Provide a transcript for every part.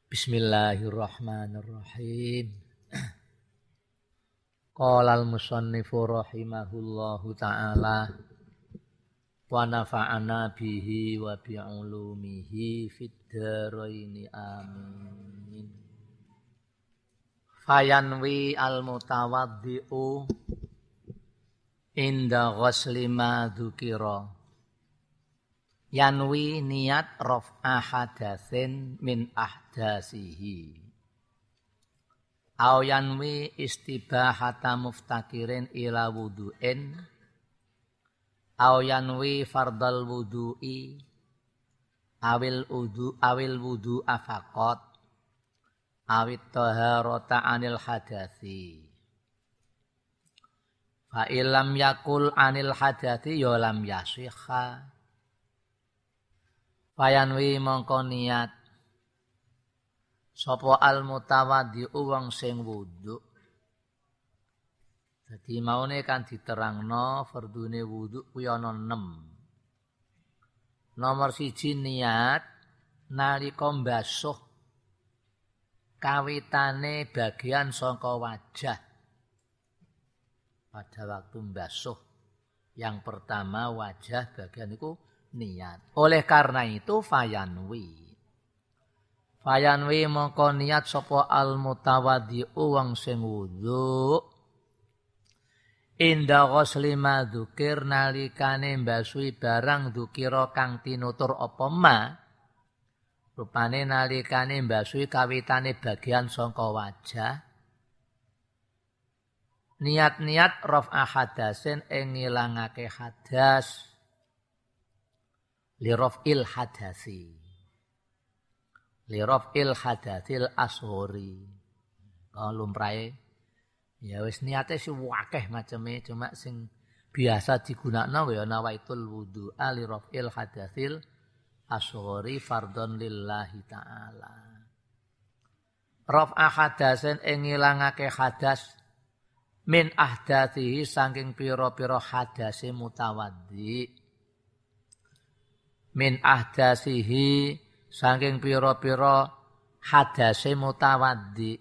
Bismillahirrahmanirrahim. Qala al-musannifu rahimahullahu ta'ala wa nafa'ana bihi wa bi'ulumihi fid dharaini amin. Fayanwi al-mutawaddi'u inda ghusli ma dzukira. Yanwi niat raf'a hadatsin min ahdasihi. Au yanwi istibahata muftakirin ila wudu'in. Au yanwi fardal wudu'i. Awil wudu afaqat. Awit taharata anil hadasi. Fa illam yakul anil hadasi ya lam yasihha. Fayanwi mongko niat sapa al mutawaddi'u wong sing wudu. Dadi maune kan diterangno fardune wudu kuwi ana 6. Nomor 1 niat nalika mbasuh kawitane bagian saka wajah. Pada waktu mbasuh yang pertama wajah bagian itu niat. Oleh karena itu fayanwi mongko niat sapa al mutawaddi'u wong sing wudu inda ghusli ma dzukir nalikane mbasuhi barang dzukira kang tinutur apa ma rupane nalikane mbasuhi kawitane bagian saka wajah niat-niat raf'a hadasin ing ngilangake hadas liraf'il hadasil ashori. Kalau lumrahe ya wis niate sing akeh maceme cuma sing biasa digunakno ya nawaitul wudu'a liraf'il hadasil ashori fardhon lillahi ta'ala. Raf'a hadasin ing ngilangake hadas min ahdasihi saking pira-pira hadase mutawaddi. Min ahdasihi saking pira-pira hadase mutawaddi.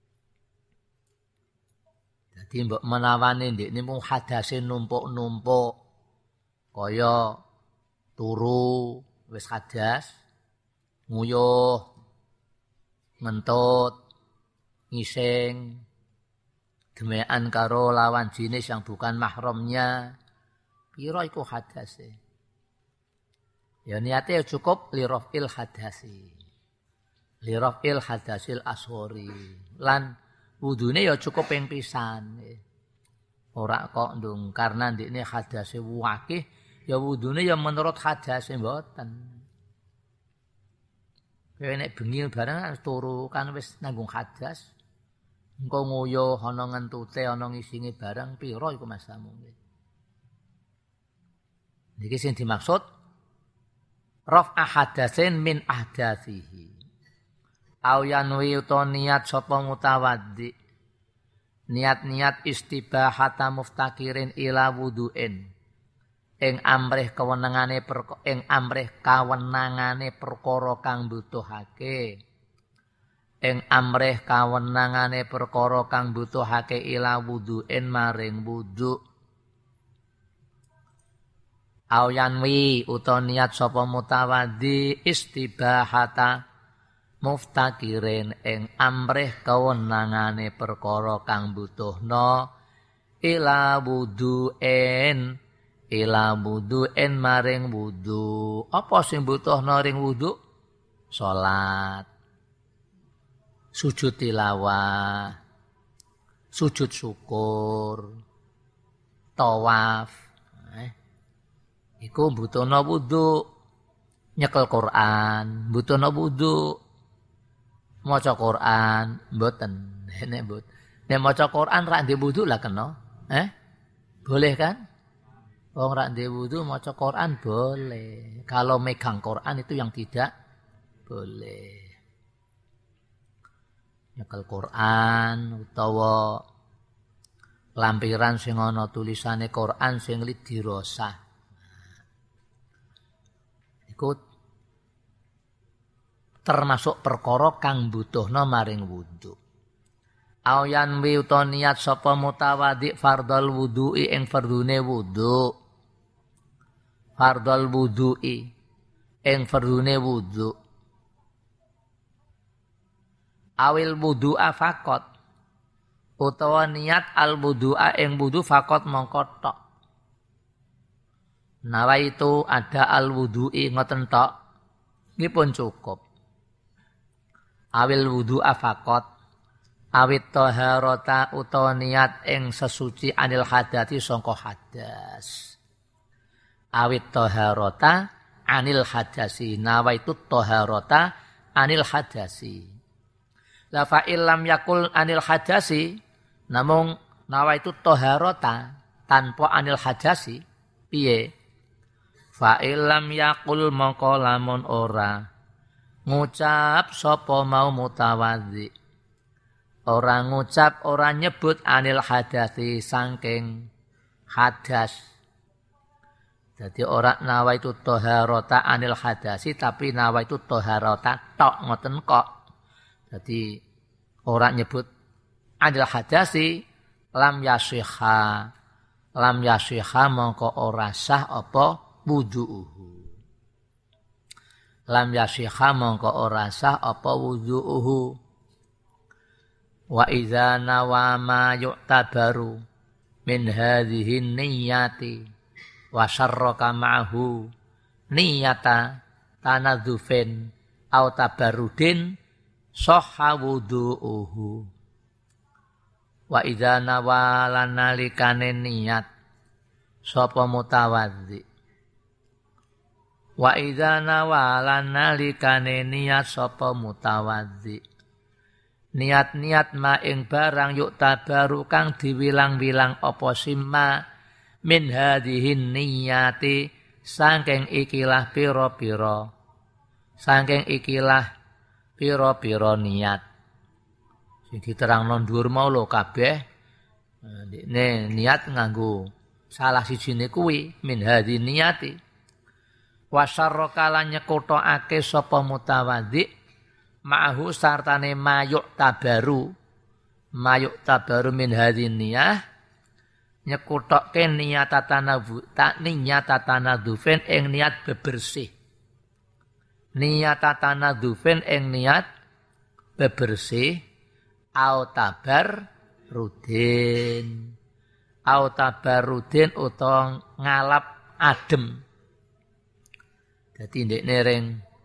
Dadi mbok menawane ndekne mung hadase numpuk-numpuk kaya turu wis hadas, nguyuh, ngentut, ngising, gemekan karo lawan jenis yang bukan mahramnya, pira iku hadase. Ya niatnya cukup liraf'il hadasi. Liraf'il hadasil ashori. Lan wudune ya cukup ping pisan. Ora kok ndung karena ndekne hadase wakih ya wudune ya menurut hadase mboten. Kowe nek bengi barang turu kan wis nanggung hadas. Engko nguyuh ana ngentute ana ngisinge barang pira iku masamu. Niki sing dimaksud raf'a hadasin min ahdasihi. Au yanwi uta niat sapa mutawaddi. Niat-niat istibahata muftakirin ila wudu'in. Ing amrih kawenangane perkara kang butuhake. Ing amrih kawenangane perkara kang butuhake ila wudu'in maring wudu'. Au yanwi uta niat sapa mutawaddi istibahata muftakirin ing amrih kawenangane perkara kang butuhna ila wudu'in maring wudu. Apa sing butuhna ring wudu? Salat, sujud tilawah, sujud syukur, tawaf. Iku butuhna wudu, nyekel Quran, butuhna wudu, maca Quran, mboten. Nek maca Quran ra ndek wudu lah kena. Boleh kan? Wong ra ndek wudu maca Quran boleh. Kalau megang Quran itu yang tidak boleh. Nyekel Quran utawa lampiran sing ana tulisane Quran sing dirosah. Ikut termasuk perkara kang butuhna maring wudu. Ayan wi uta niat sapa mutawadhi fardhal wudu'i ing fardune wudu. Fardhal wudu'i ing fardune wudu. Awil wudu'a faqat utawa niat al wudu'a ing wudu faqat mongko tok. Nawaitu ada al wudu'i ngoten tok nggih pun cukup. Awil wudu'a faqat awit taharata utawa niat ing sesuci anil hadati sangka hadas. Awit taharata anil hadasi nawaitu taharata anil hadasi. La fa illam yakul anil hadasi namung nawaitu taharata tanpa anil hadasi piye? Fa illam yakul mongko lamun ora ngucap sapa mau mutawadhi. Orang ngucap, orang nyebut anil hadasi sangking hadas. Jadi orang nawaitu taharata anil hadasi tapi nawaitu taharata tok ngoten kok. Jadi orang nyebut anil hadasi lam yasihha mongko ora sah apa wudu'uhu. Lam yasihha mongko ora sah apa wudu'uhu. Wa idza nawa ma yu'tabaru min hadhihi niyyati wa syarraka ma'ahu niyyata tanadzufin au tabarrudin sahha wudu'uhu. Wa idza nawa lanalikane niat sapa mutawadhi. Wa idza nawa lanalikane niat sapa mutawadhi. Niat-niat ma ing barang yuk tabaru kang diwilang-wilang apa simma min hadhihin niyati saking ikilah pira-pira niat sing diterangno dhuwur mau lho kabeh niat nganggo salah sijine kuwi min hadhin niyati wa syarraka lan nyekutokake sapa mutawadhi ma'ahu sartane mayuk tabaru min hadhin niyah nyekutokke niyatatanadufen ing niat bebersih niyatatanadufen ing niat bebersih au tabarrudin utawa ngalap adem. Dadi ndekne ring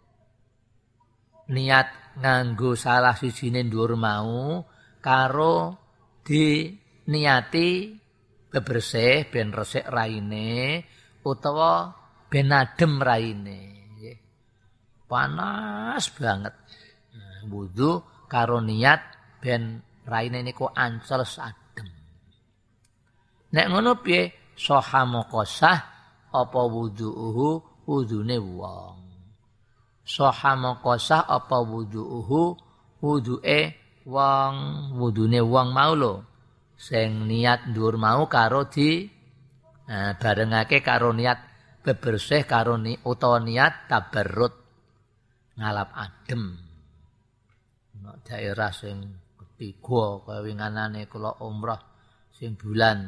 niat nganggo salah sijine dhuwur mau karo diniati bebersih ben resik raine utawa ben adem raine nggih. Panas banget. Wudu karo niat ben raine niku ancel adem. Nek ngono piye soha mokosah apa wudu'uhu wudune wong. Soha mokosah apa wudu'uhu wudu'e wong wudune wong mau lho sing niat dhuwur mau karo barengake karo niat bebersih karo utawa niat tabarrud ngalap adem. Nek daerah sing ketiga kaya winganane kula umrah sing bulan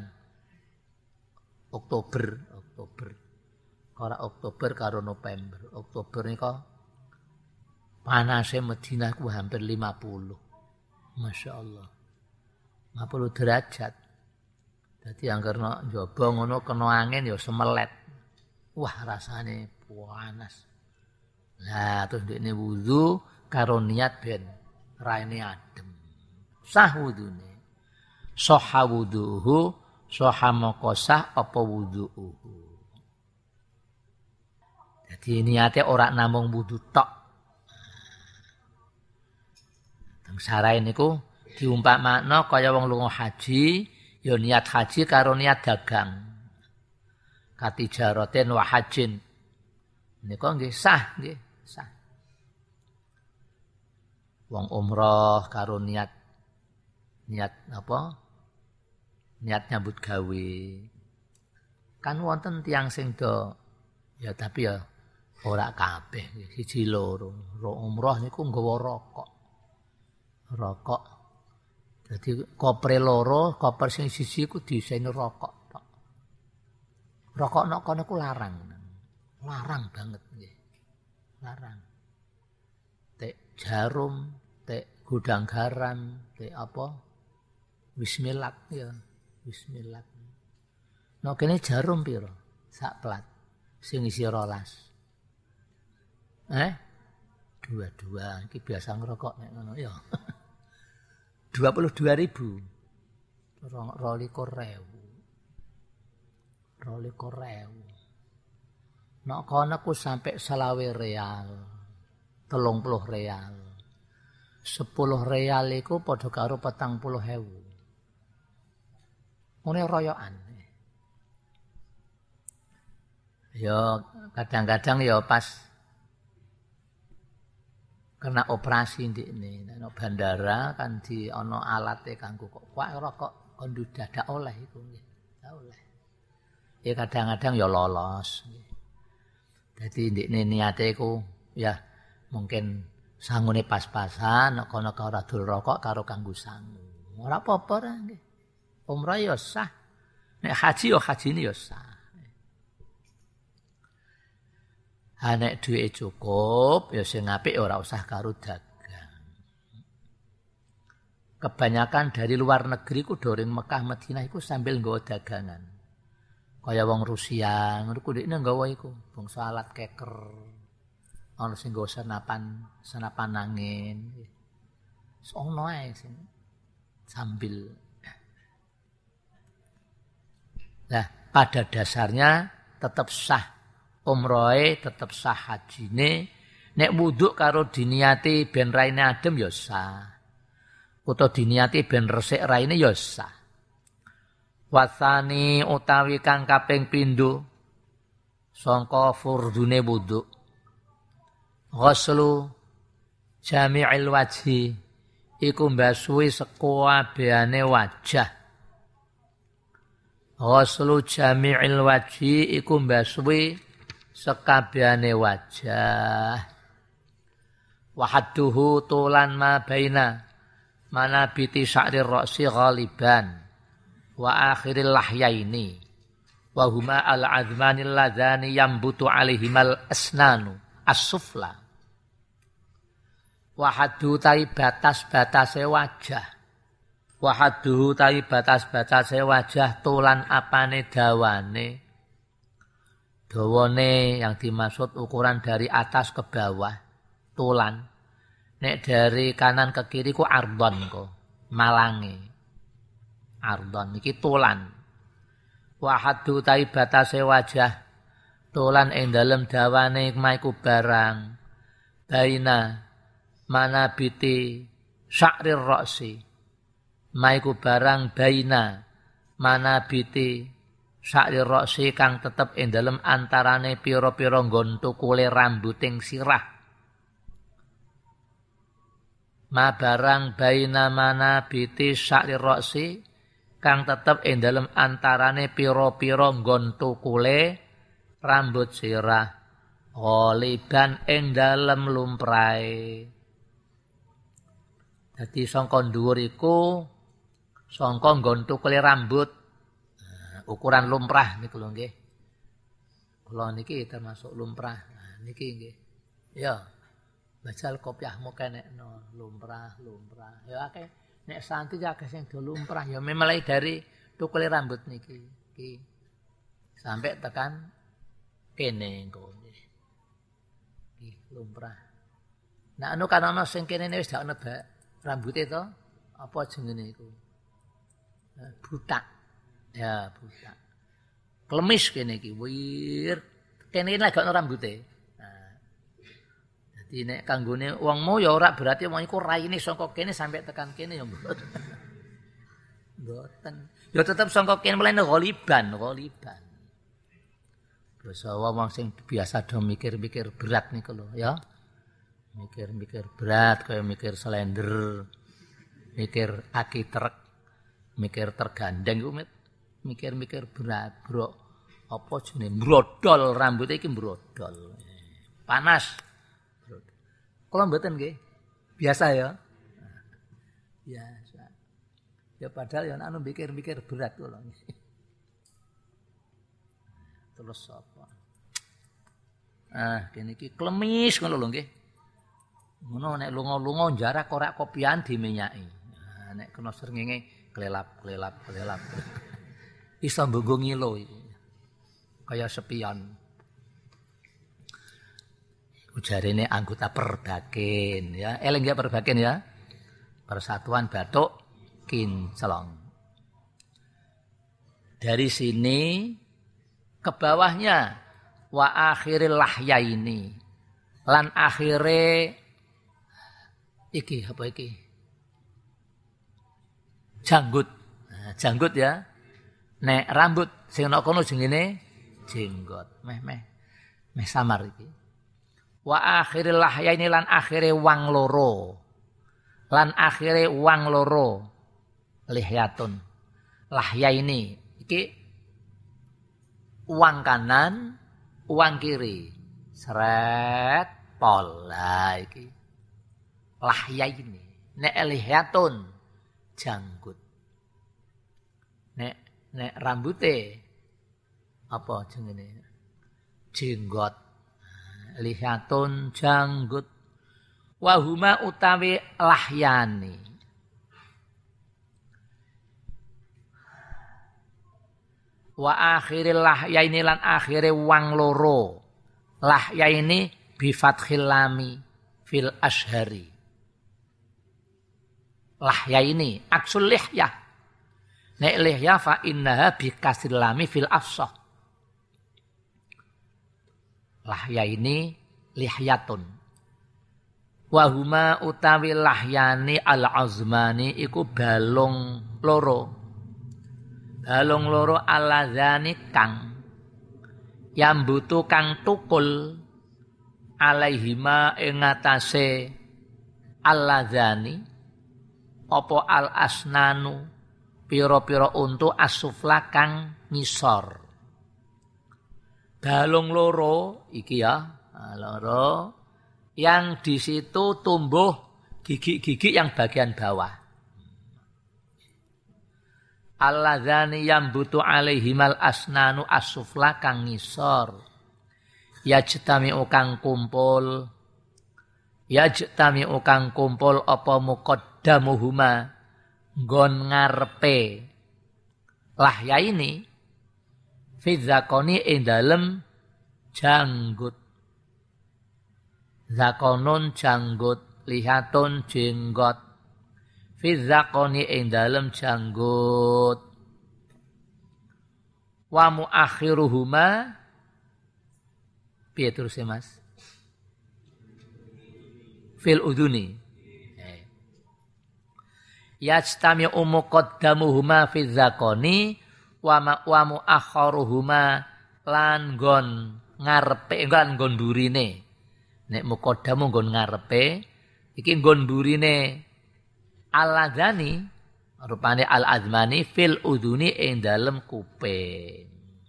Oktober ora Oktober karo November. Oktober nika panase Madinah ku hampir 50. Masya Allah. 50 derajat. Dadi angger nek njaba ngono kena angin ya semelet. Wah rasane panas. Lah terus ndekne wudu karo niat ben raine adem. Sah wudune. Sahha wuduhu, sahha maqasah apa wuduhu. Jadi niate ora namung wudu tok. Sarai niku diumpakmakna kaya wong lunga haji, ya niat haji karo niat dagang. Katijaratin wa hajin. Niku nggih sah, nggih, sah. Wong umrah karo niat apa? Niat nyambut gawe. Kan wonten tiyang sing do ya tapi ya Ora kabeh, siji loro. Umrah niku nggawa rokok. Rokok. Dadi koper loro, koper sing siji ku diiseni rokok tok. Rokok nek kono ku larang. Larang banget nggih. Larang. Tek jarum, tek gudang garam, tek apa? Bismillah ya, bismillah. Nek kene jarum pira? Sak plat. Sing isi 12. Dua-dua iki biasa ngerokok nek ngono ya. 22.000. 22.000. Nek kono ku sampai 20 real. 30 real. 10 real iku padha karo 40.000. Ngene royokan. Ya kadang-kadang ya pas kena operasi ndikne nek bandara kan di ana alate kanggo kok rokok kondu dadak oleh iku nggih. Oleh. Ya kadang-kadang ya lolos nggih. Dadi ndikne niate iku ya mungkin sangune pas-pasan nek kono ora dol rokok karo kanggo sangu. Ora apa-apa ra nggih. Umrah ya sah. Nek haji ya hajine ya sah. Nek duwe cukup ya sing apik ora usah karo dagang. Kebanyakan dari luar negeri ku doring Mekah Madinah iku sambil nggawa dagangan. Kaya wong Rusia ngono ku ndekne nggawa iku, bangsa alat keker. Ana sing nggawa senapan angin. Sono ae sing sambil. Nah, pada dasarnya tetap sah. Umrohe tetep sah hajine, nek wudhu karo diniati ben raine adem ya sah. Utawa diniati ben resik raine ya sah. Wasani utawi kang kaping pindho sangka furdune wudhu. Ghuslu jami'il wajhi iku mbasuhi sekabehane wajah. Ghuslu jami'il wajhi iku mbasuhi sekabehane wajah. Wahadduhu tulan ma baina manabiti sya'rir ra'si ghaliban wa akhiril lahyaini wa huma al-azmanil ladzani yambutu alaihimal asnanu as-sufla. Wahaddu tai batas-batase wajah. Wahadduhu tai batas-batase wajah tulan apane dawane. Dawane yang dimaksud ukuran dari atas ke bawah, tulan. Nek dari kanan ke kiri ku ardon ko, malange. Ardon iki tulan. Wahaddu tai batase wajah, tulan ing dalem dawane maiku barang. Baina manabiti sya'rir ra'si. Maiku barang baina manabiti sya'rir ra'si kang tetep ing dalem antarane pira-pira nggon tukule rambuting sirah. Ma barang baina manabiti sya'rir ra'si kang tetep ing dalem antarane pira-pira nggon tukule rambut sirah. Ghaliban ing dalem lumprahe. Dadi sangka dhuwur iku sangka nggon tukule rambut. Ukuran lumrah niku lho nggih. Kula niki termasuk lumrah. Nah, niki nggih. Ya. Bajal kopiahmu kenekno lumrah. Ya akeh nek santri akeh sing do lumrah ya memulai dari tukule rambut niki. Iki sampai tekan kene engko nggih. Iki lumrah. Nah anu kan ana sing kene wis dak ono rambuté to. Apa jenenge iku? Butak. Ya budak. Klemis kene iki wir. Kene lagi ana rambute. Nah. Dadi nek kanggone wongmu ya ora berarti wong iku raine saka kene sampai tekan kene ya mboten. Mboten. Ya tetep saka kene mlene ghaliban. Basa wong sing biasa do mikir-mikir berat niku lho ya. Mikir-mikir berat kaya mikir slender. Mikir aki truk. Mikir tergandeng iku mikir-mikir berat, bro. Apa jenenge? Brodol rambutnya iki brodol. panas. Kula mboten nggih. Biasa ya. Biasa. Ya padahal ya anu mikir-mikir berat kula. Terus apa? Kene iki klemis ngono lho nggih. Ngono nek lunga-lunga jarak korak kopian dimenyaki. Nek kena srengenge klelap. Iso mbunggu ngilo iku. Kaya sepion. Ujarene anggota Perbakin ya. Eling ya Perbakin ya. Persatuan Batuk Kinclong. Dari sini ke bawahnya wa akhiril lahyaini lan akhire iki apa iki? Janggut. Nah, janggut ya. Nek rambut sing ana kono jenenge jenggot. Meh samar iki. Wa akhiril lahyaini lan akhire wang loro. Lan akhire wang loro. Lihyatun. Lahyaini iki uang kanan, uang kiri. Seret pola iki. Lahyaini. Nek lihyatun janggut. Nek rambute apa jenenge? Jenggot. Lihyatun janggut. Wa huma utawi lahyani. Wa akhiril lahyaini lan akhire wang loro. Lahyaini bi fathil lami fil ashhari. Lahyaini aksul lihyah. Nek lihyah fa innaha bi kasril lami fil afsah. Lahyaini lihyatun. Wa huma utawi lahyani al azmani iku balung loro. Balung loro aladzani kang yambutu kang tukul alaihima ing atase aladzani apa al asnanu pira-pira untu asufla kang ngisor. Balung loro iki ya, loro yang di situ tumbuh gigi-gigi yang bagian bawah. Alladzani yambutu alaihimal asnanu asufla kang ngisor. Yajtami'u kang kumpul apa muqaddamuhuma nggon ngarepe lahya ini fi zakoni ing dalem janggut. Zakonun janggut, lihatun jenggot. Fi zakoni ing dalem janggut. Wa muakhiruhuma piye terus Mas? Fil udhuni. Yajtami'u muqaddamuhuma fi zakoni wa muakhiruhuma lan nggon ngarepe nggon burine. Nek muqaddamu nggon ngarepe, iki nggon burine al-adzani rupane al-azmani fil udhuni ing dalem kuping.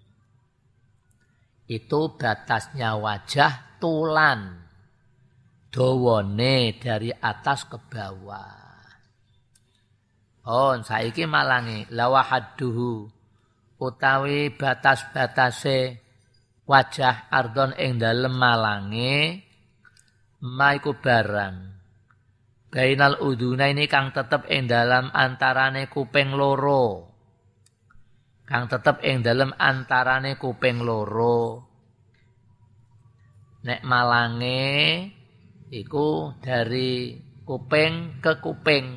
Itu batasnya wajah tulan. Dawane dari atas ke bawah. Oh, saiki malangi lawahadduhu utawi batas-batase wajah ardon ing dalem malange maiku barang. Bainal uduna ini kang tetep ing dalam antarane kuping loro. Kang tetep ing dalam antarane kuping loro. Nek malange iku dari kuping ke kuping.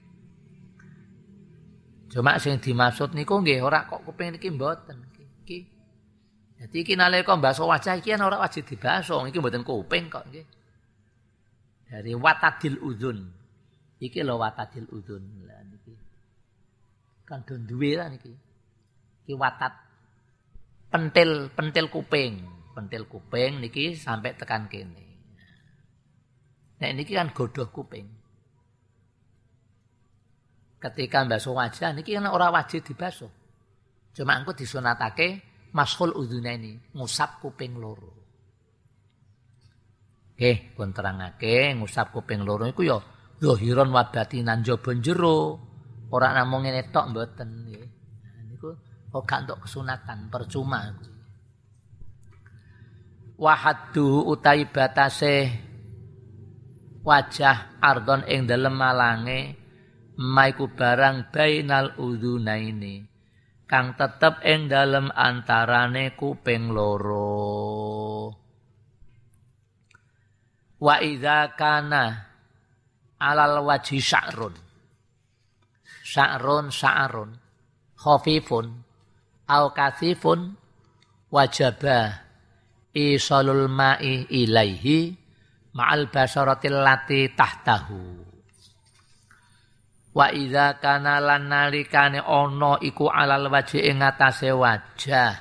Cuma sing dimaksud niku nggih ora kok kuping niki mboten iki. Dadi iki nalika mbaso wajah iki ora wajib dibaso, iki mboten kuping kok nggih. Dari watadil udhun. Iki lho watadil udhun. Lah niki. Kan do duwe lah niki. Iki watat pentil kuping. Pentil kuping niki sampai tekan kene. Nek niki kan godhoh kuping. Ketika mbasuh wajah niki kan ora wajib dibasuh. Cuma engko disunatake mashul udhunaini, ngusap kuping loro. Nggih, pun terangake ngusap kuping loro iku ya zahiron wa batinan jaba jero. Ora namung ngene tok mboten nggih. Nah niku kok gak entuk kesunatan, percuma. Wa haddu utai batase wajah ardon ing dalem malange maiku barang bainal udzunaini kang tetep ing dalem antarane kuping loro. Wa idza kana alal wajhi sya'run khafifun au kathifun wajaba isalul ma'i ilaihi ma'al basaratil lati tahtahu. Wa idza kana lan nalikane ana iku alal wajhi ing atase wajah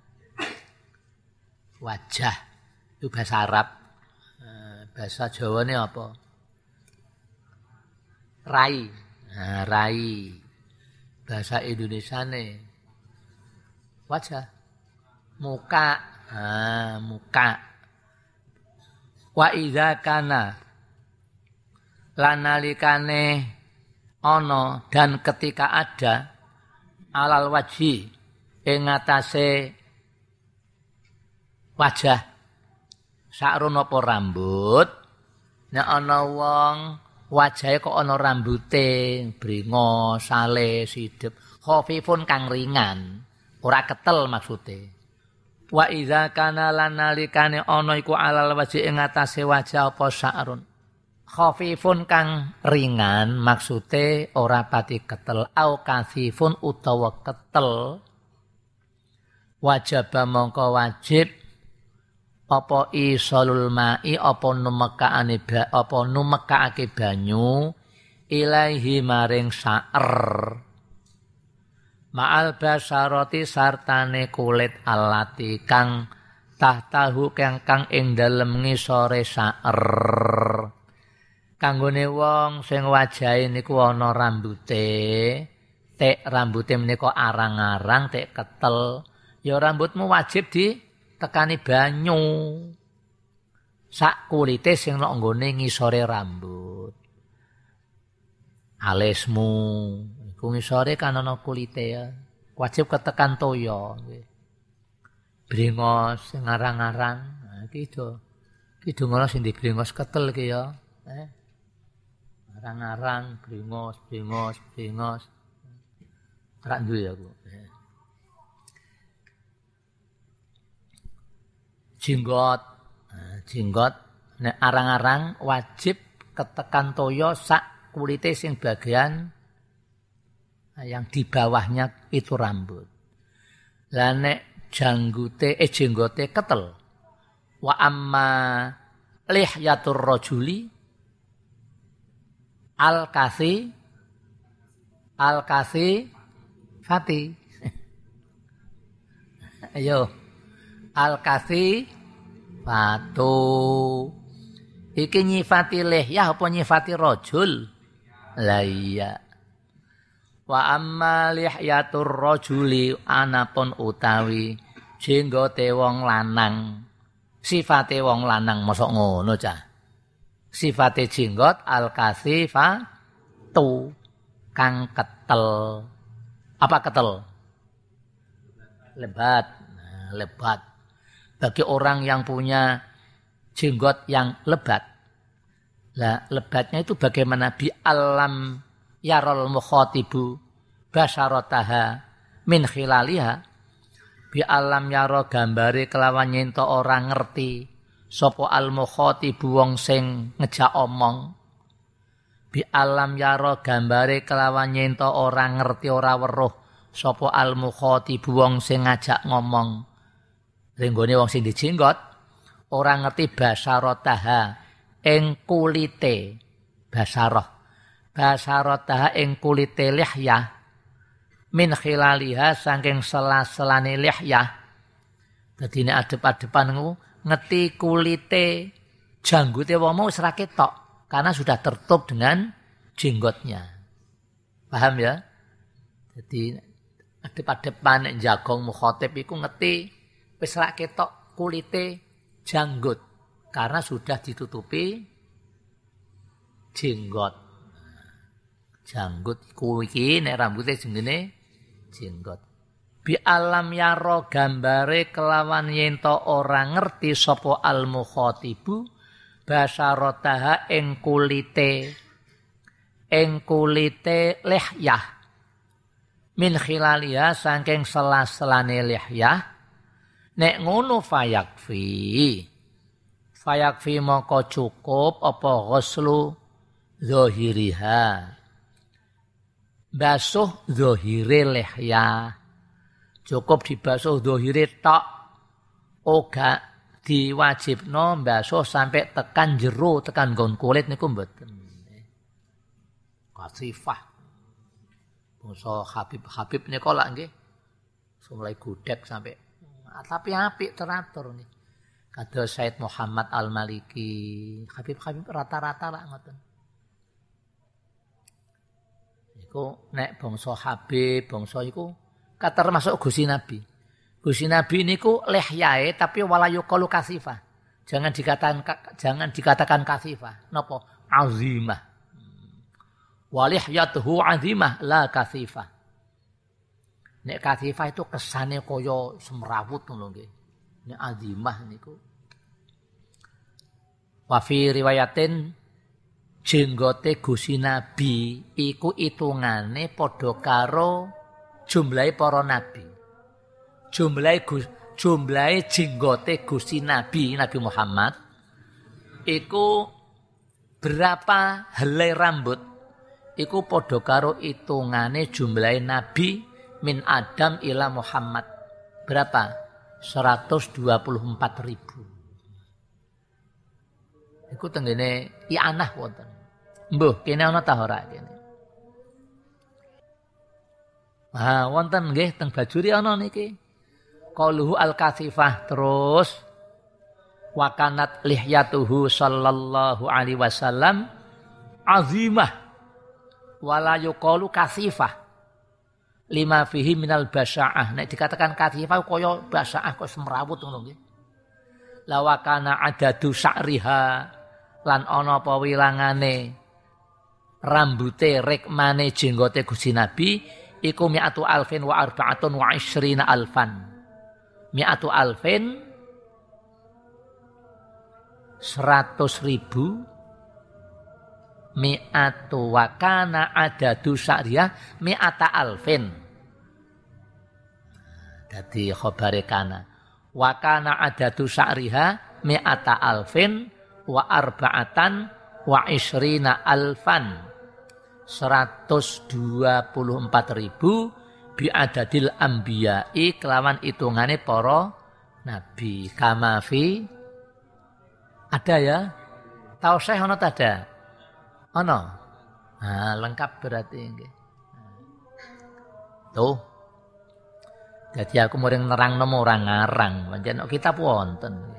itu bahasa Arab. Bahasa Jawane apa? Rai. Nah, rai. Bahasa Indonesiane wajah. Muka. Nah, muka. Wa idza kana lan nalikane ana dan ketika ada alal wajhi ing atase wajah sakrun apa rambut, nek ana wong wajahe kok ana rambute, bringo, sale, sidep, khafifun kang ringan, ora ketel maksude. Wa idza kana lan nalikane ana iku alal wajhi ing atase wajah apa sakrun. Khafifun kang ringan maksude ora pati ketel, au kasifun utawa ketel. Wajib mongko wajib apa isalul ma'i apa numekaake banyu ilaihi maring sa'er ma'al basarati sartane kulit alati kang tahtahu kang ing dalem ngisore sa'er kanggone wong sing wajahe niku ana rambute tek rambute menika arang-arang tek ketel ya rambutmu wajib tekani banyu sak kulite sing nek nggone ngisore rambut alismu iku ngisore kan ana kulite ya wajib ketekan toya nggih brengos sing arang-arang iki ngono sing dibrengos ketel iki ya arang-arang brengos ora duwe aku jenggot nek arang-arang wajib ketekan toya sak kulite sing bagian yang di bawahnya itu rambut. Lah nek jenggote ketel. Wa amma lihyatur rajuli al-kasi fati. Ayo. Al-kasi fatu. Iki nyifati lihyah apa nyifati rajul? Lah iya. Wa amma lihyatur rajuli anapun utawi jenggote wong lanang. Sifate wong lanang mosok ngono cah. Sifate jenggot al-kasi fatu kang ketel. Apa ketel? Lebat. Lebat. Bagi orang yang punya jenggot yang lebat. Lah lebatnya itu bagaimana bi alam yarol mukhatibu basharataha min khilaliha bi alam yaro gambare kelawan nyento orang ngerti sapa al mukhatibu wong sing ngejak omong bi alam yaro gambare kelawan nyento orang ngerti ora weruh sapa al mukhatibu wong sing ngajak ngomong renggone wong sing dijenggot ora ngerti basarataha ing kulite basarataha ing kulite lihyah min khilaliha saking sela-selane lihyah dadi nek adep-adepan ngerti kulite janggote wong mau wis ra ketok karena sudah tertutup dengan jenggotnya paham ya jadi adep-adepan nek jagong mukhatib iku ngerti wis ra ketok kulite janggut karena sudah ditutupi jenggot. Janggut iku iki nek rambute jenenge jenggot. Bi alam yaro gambare kelawan yen to ora ngerti sapa al mukhatibu basarataha ing kulite lihyah min khilaliha saking selas-selane lihyah nek ngono fayakfi moko cukup apa ghuslu zahiriha basuh zahire lihyah cukup dibasuh zahire tok ora diwajibno basuh sampai tekan jero tekan nggon kulit niku mboten kasifah bangsa Habib nika lak nggih mulai gudeg sampai tapi apik teratur nggih kados Said Muhammad Al-Maliki Habib rata-rata lak ngoten. Nek bangsa Habib, bangsa iku termasuk Gusti Nabi. Gusti Nabi niku lihyae tapi wala yuqalu kasifah. Jangan dikatakan kasifah. Napa? Azimah. Walihyatuhu azimah la kasifah. Nek kasifah itu kesane kaya semrawut ngono nggih. Nek azimah niku wa fi riwayatin jenggote Gusti Nabi iku itungane padha karo jumlahe para nabi. Jumlahe jenggote Gusti Nabi Muhammad iku berapa helai rambut iku padha karo itungane jumlahe nabi min Adam ila Muhammad. Berapa? 124.000. Iku tenggene i'anah wonten. Mbuh, kene ana ta ora kene. Wonten nggih teng Bajuri ana niki. Qauluhu al-kasifah terus wa kanat lihyatuhu sallallahu alaihi wasallam azimah wala yuqalu kasifah. Lima fihi minal basya'ah. Nek dikatakan kasifah kaya basya'ah kok semrawut ngono nggih. La wa kana adadu sa'riha lan ana apa wilangane rambute rekmane jenggote Gusti Nabi iku mi'atu alfin wa arba'atun wa ishrina alfan. Mi'atu alfin 100.000 mi'atu wa kana adadu sya'riyah mi'ata alfin. Dadi khabare kana wa kana adadu sya'riha mi'ata alfin wa arba'atan wa ishrina alfan. 124.000 bi adadil anbiya'i kelawan hitungane para nabi. Kamafi ada ya? Tahu saya ono tada? Ono. Nah, lengkap berarti nggih. Tuh. Jadi aku muring nerangno ora ngarang, pancen kitab wonten.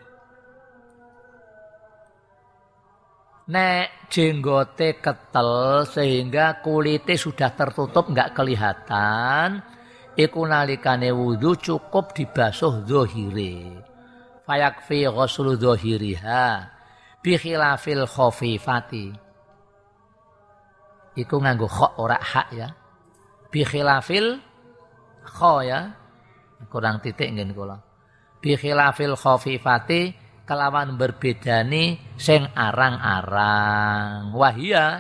Nek jenggote ketel sehingga kulitnya sudah tertutup enggak kelihatan, iku nalikane wudu cukup dibasuh zahire. Fayakfi ghuslu zahiriha bi khilafil khafifati. Iku nganggo kha ora hak ya. Bi khilafil kha ya. Kurang titik nggen kula. Bi khilafil khafifati kelawan berbedani sing arang-arang wahia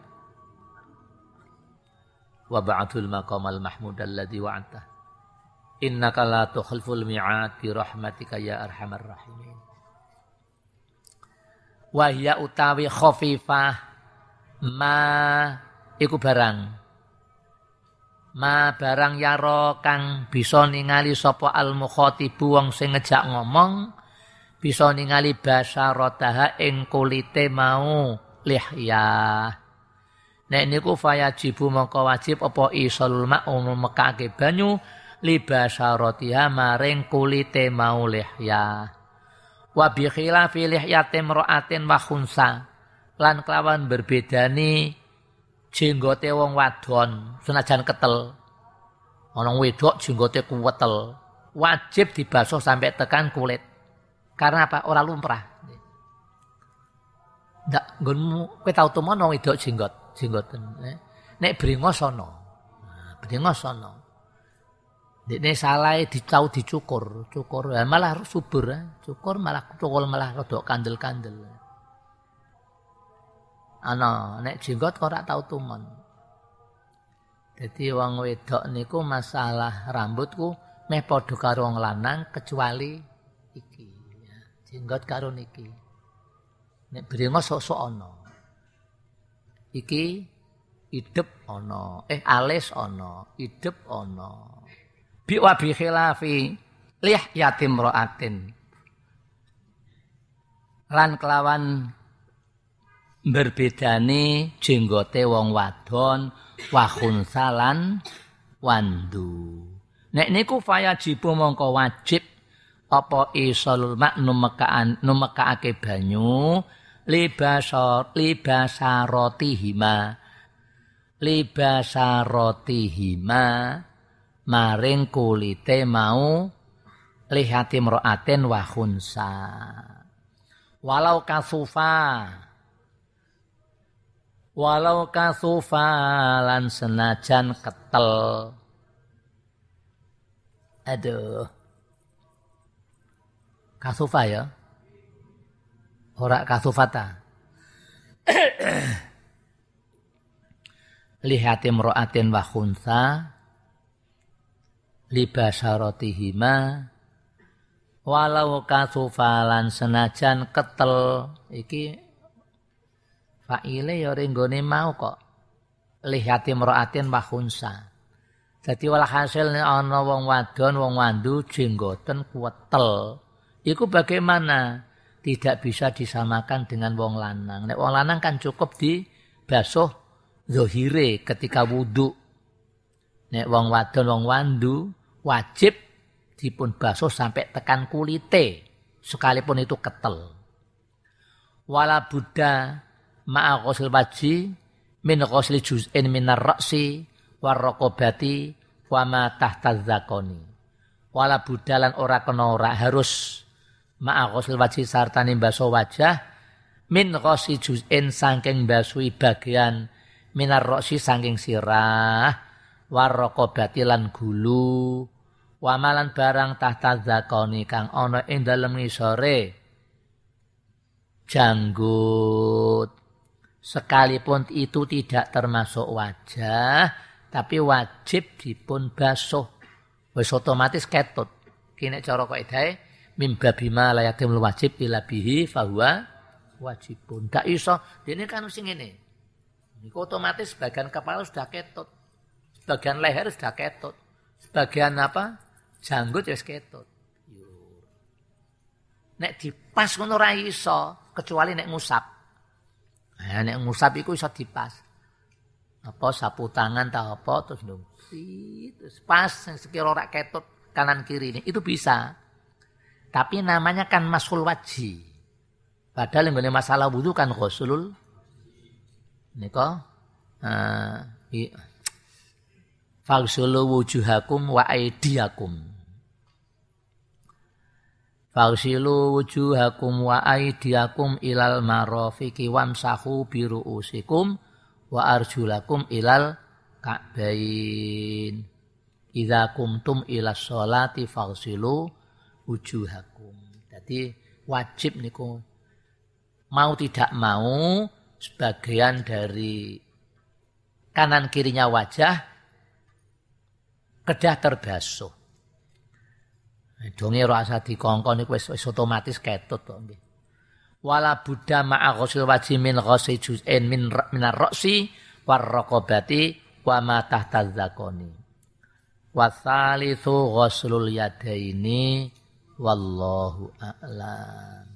wa ba'dul maqamal mahmud alladzi wa'ata innaka la tukhliful mi'ad bi rahmatika ya arhamar rahimin. Wahia utawi khafifah ma iku barang yaro kang bisa ningali sapa al mukhatibu wong sing ngejak ngomong bisa ningali basarataha ing kulite mau lihyah. Nek niku fayajibu mongko wajib apa isalul ma'um mekake banyu li basaratiha maring kulite mau lihyah. Wa bi khilafi lihyati imra'atin wa khunsa lan kelawan berbedani jenggote wong wadon senajan ketel. Ana wedok jenggote kuwetel, wajib dibasuh sampai tekan kulit. Karena apa? Ora lumrah. ndak nggonmu kowe tau tumon wong wedok jenggoten. Nek brengos ana. Brengos ana. Dekne salah dicau dicukur, malah subur, cukur malah cukul malah rada kandel-kandel. Ana nek jenggot kok ora tau tumon. Dadi wong wedok niku masalah rambutku meh padha karo wong lanang kecuali iki. Ya, jenggot karo niki. Nek brengos sok-sok ana. Iki idep ana, alis ana, idep ana. Bi wa bi khilafi lih yatim ra'atin. Lan kelawan berbedane jenggote wong wadon wa khunsalan wandu. Nek niku fayajibu mongko wajib apa isolul mak numekaake banyu libasarotihima maring kulite mau lihati mroaten wa khunsa. Walau kasufa lan senajan ketel. Aduh. Kasufa ya. Ora kasufata. Lihati mroatin wa khunsa libasarotihima walau kasufa lan senajan ketel iki faile ya renggone mau kok lihati mroatin wa khunsa. Dadi walhasil ana wong wadon wong wandu jenggoten kuwetel. Iku bagaimana? Tidak bisa disamakan dengan wong lanang. Nek wong lanang kan cukup dibasuh zahire ketika wudu. Nek wong wadon wong wandu wajib dipun basuh sampai tekan kulite sekalipun itu ketel. Wala buddha ma'a ghusl wajhi min ghusli juz'in minar ra'si warraqabati wa ma tahta zakoni. Wala budalan ora kena ora harus ma'a ghusl wajhi sartane basuh wajah min ghusli juz'in saking basuhi bagian minar ra'si saking sirah warraqabati lan gulu wa malan barang tahta zakoni kang ana ing dalem ngisore janggut. Sekalipun itu tidak termasuk wajah, tapi wajib dipun basuh. Wis otomatis ketut. Ki nek cara kaidahe mimba bima layatimul wajib ila bihi fahuwa wajibun. Ndak iso, dene kan sing ngene. Niku otomatis bagian kepala sudah ketut. Bagian leher sudah ketut. Bagian apa? Janggut wis ketut. Nek dipas ngono ora iso, kecuali nek ngusap. Nah, nek ngusap iku iso dipas. Apa sapu tangan ta apa terus terus pas sekira ora ketut kanan kiri ini itu bisa. Tapi namanya kan masul wajhi. Padahal yang masalah wudu kan ghuslul nika faghsulu wujuhakum wa aydiyakum. Faghsilu wujuhakum wa aydiyakum ilal marafiqi wamsahu bi ru'usikum wa arjulakum ilal ka'bain. Idza kumtum ilas sholati faghsilu wujuhakum. Jadi wajib niku mau tidak mau sebagian dari kanan kirinya wajah kedah terbasuh. Donge ora usah dikongkon niku wis otomatis ketut kok nggih. Wala buddha ma'a ghusl wajhi min ghusli juz'in minar ra'si war raqabati wa ma tahta zakoni. Wasalitsu ghuslul yadaini wallahu a'lam.